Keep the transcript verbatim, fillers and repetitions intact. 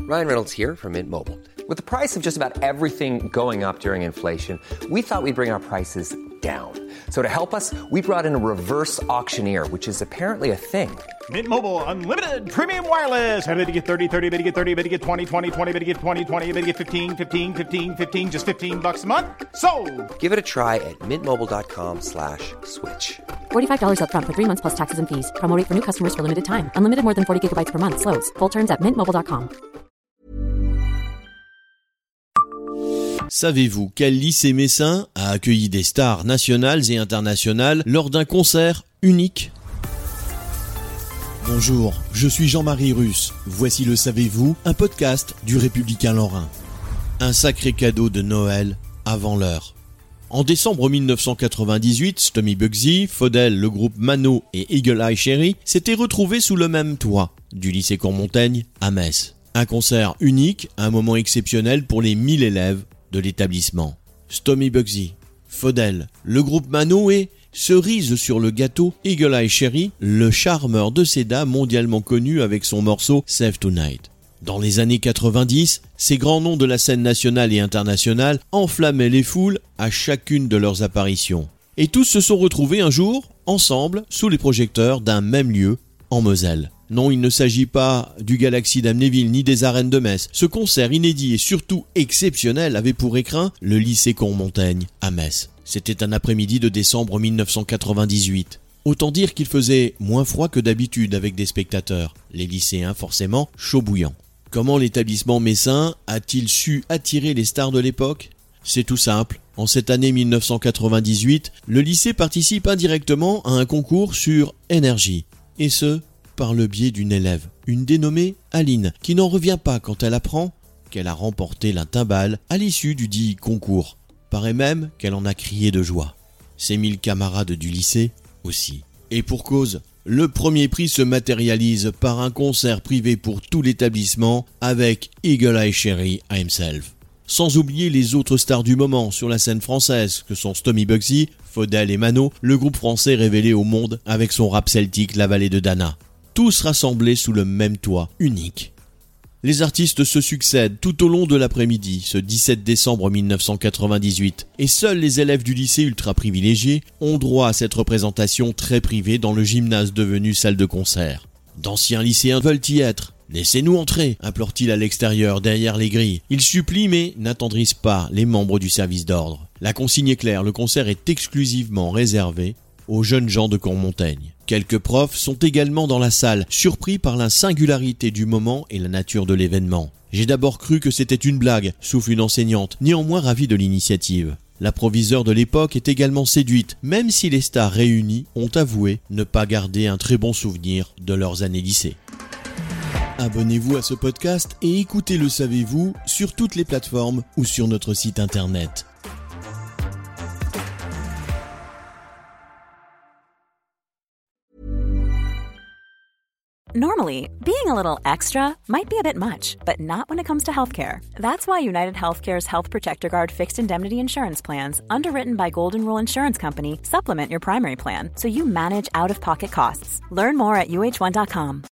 Ryan Reynolds here from Mint Mobile. With the price of just about everything going up during inflation, we thought we'd bring our prices down. So to help us, we brought in a reverse auctioneer, which is apparently a thing. Mint Mobile Unlimited Premium Wireless. How to get thirty, thirty, how to get thirty, how to get twenty, twenty, twenty, how to get twenty, twenty, how to get fifteen, fifteen, fifteen, fifteen, just fifteen bucks a month? Sold! Give it a try at mintmobile.com slash switch. forty-five dollars up front for three months plus taxes and fees. Promo rate for new customers for limited time. Unlimited more than forty gigabytes per month. Slows full terms at mint mobile dot com. Savez-vous quel lycée messin a accueilli des stars nationales et internationales lors d'un concert unique ? Bonjour, je suis Jean-Marie Russe. Voici le Savez-vous, un podcast du Républicain Lorrain. Un sacré cadeau de Noël avant l'heure. En décembre mille neuf cent quatre-vingt-dix-huit, Stomy Bugsy, Faudel, le groupe Mano et Eagle Eye Cherry s'étaient retrouvés sous le même toit du lycée Courmontaigne à Metz. Un concert unique, un moment exceptionnel pour les mille élèves de l'établissement. Stomy Bugsy, Faudel, le groupe Mano et, cerise sur le gâteau, Eagle Eye Cherry, le charmeur de Seda mondialement connu avec son morceau Save Tonight. Dans les années quatre-vingt-dix, ces grands noms de la scène nationale et internationale enflammaient les foules à chacune de leurs apparitions. Et tous se sont retrouvés un jour, ensemble, sous les projecteurs d'un même lieu, en Moselle. Non, il ne s'agit pas du Galaxy d'Amnéville ni des arènes de Metz. Ce concert inédit et surtout exceptionnel avait pour écrin le lycée Courmontaigne à Metz. C'était un après-midi de décembre mille neuf cent quatre-vingt-dix-huit. Autant dire qu'il faisait moins froid que d'habitude avec des spectateurs. Les lycéens, forcément, chaud bouillant. Comment l'établissement messin a-t-il su attirer les stars de l'époque ? C'est tout simple. En cette année mille neuf cent quatre-vingt-dix-huit, le lycée participe indirectement à un concours sur énergie. Et ce, par le biais d'une élève, une dénommée Aline, qui n'en revient pas quand elle apprend qu'elle a remporté la timbale à l'issue du dit concours. Paraît même qu'elle en a crié de joie. Ses mille camarades du lycée aussi. Et pour cause, le premier prix se matérialise par un concert privé pour tout l'établissement avec Eagle Eye Cherry himself. Sans oublier les autres stars du moment sur la scène française que sont Stomy Bugsy, Faudel et Mano, le groupe français révélé au monde avec son rap celtique La Vallée de Dana. Tous rassemblés sous le même toit, unique. Les artistes se succèdent tout au long de l'après-midi, ce dix-sept décembre mille neuf cent quatre-vingt-dix-huit, et seuls les élèves du lycée ultra privilégiés ont droit à cette représentation très privée dans le gymnase devenu salle de concert. D'anciens lycéens veulent y être. « Laissez-nous entrer » implore-t-il à l'extérieur, derrière les grilles. Ils supplient mais n'attendrissent pas les membres du service d'ordre. La consigne est claire, le concert est exclusivement réservé aux jeunes gens de Courmontaigne. Quelques profs sont également dans la salle, surpris par la singularité du moment et la nature de l'événement. « J'ai d'abord cru que c'était une blague », souffle une enseignante, néanmoins ravie de l'initiative. La proviseure de l'époque est également séduite, même si les stars réunies ont avoué ne pas garder un très bon souvenir de leurs années lycée. Abonnez-vous à ce podcast et écoutez Le Savez-vous sur toutes les plateformes ou sur notre site internet. Normally, being a little extra might be a bit much, but not when it comes to healthcare. That's why United Healthcare's Health Protector Guard fixed indemnity insurance plans, underwritten by Golden Rule Insurance Company, supplement your primary plan so you manage out-of-pocket costs. Learn more at U H one dot com.